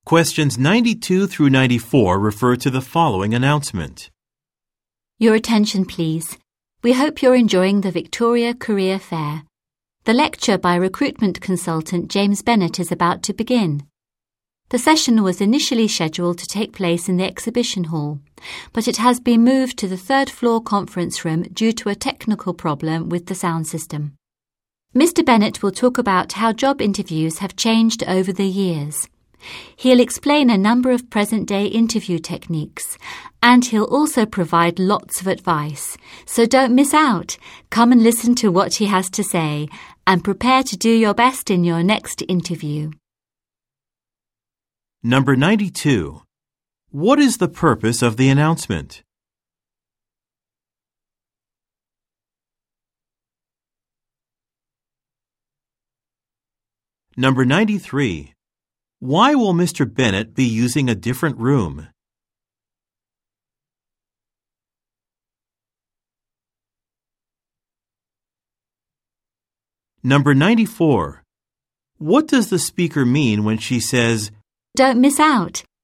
Questions 92 through 94 refer to the following announcement. Your attention, please. We hope you're enjoying the Victoria Career Fair. The lecture by recruitment consultant James Bennett is about to begin. The session was initially scheduled to take place in the exhibition hall, but it has been moved to the third-floor conference room due to a technical problem with the sound system. Mr. Bennett will talk about how job interviews have changed over the years. He'll explain a number of present-day interview techniques, and he'll also provide lots of advice. So don't miss out. Come and listen to what he has to say, and prepare to do your best in your next interview. Number 92. What is the purpose of the announcement? Number 93. Why will Mr. Bennett be using a different room? Number 94. What does the speaker mean when she says, Don't miss out.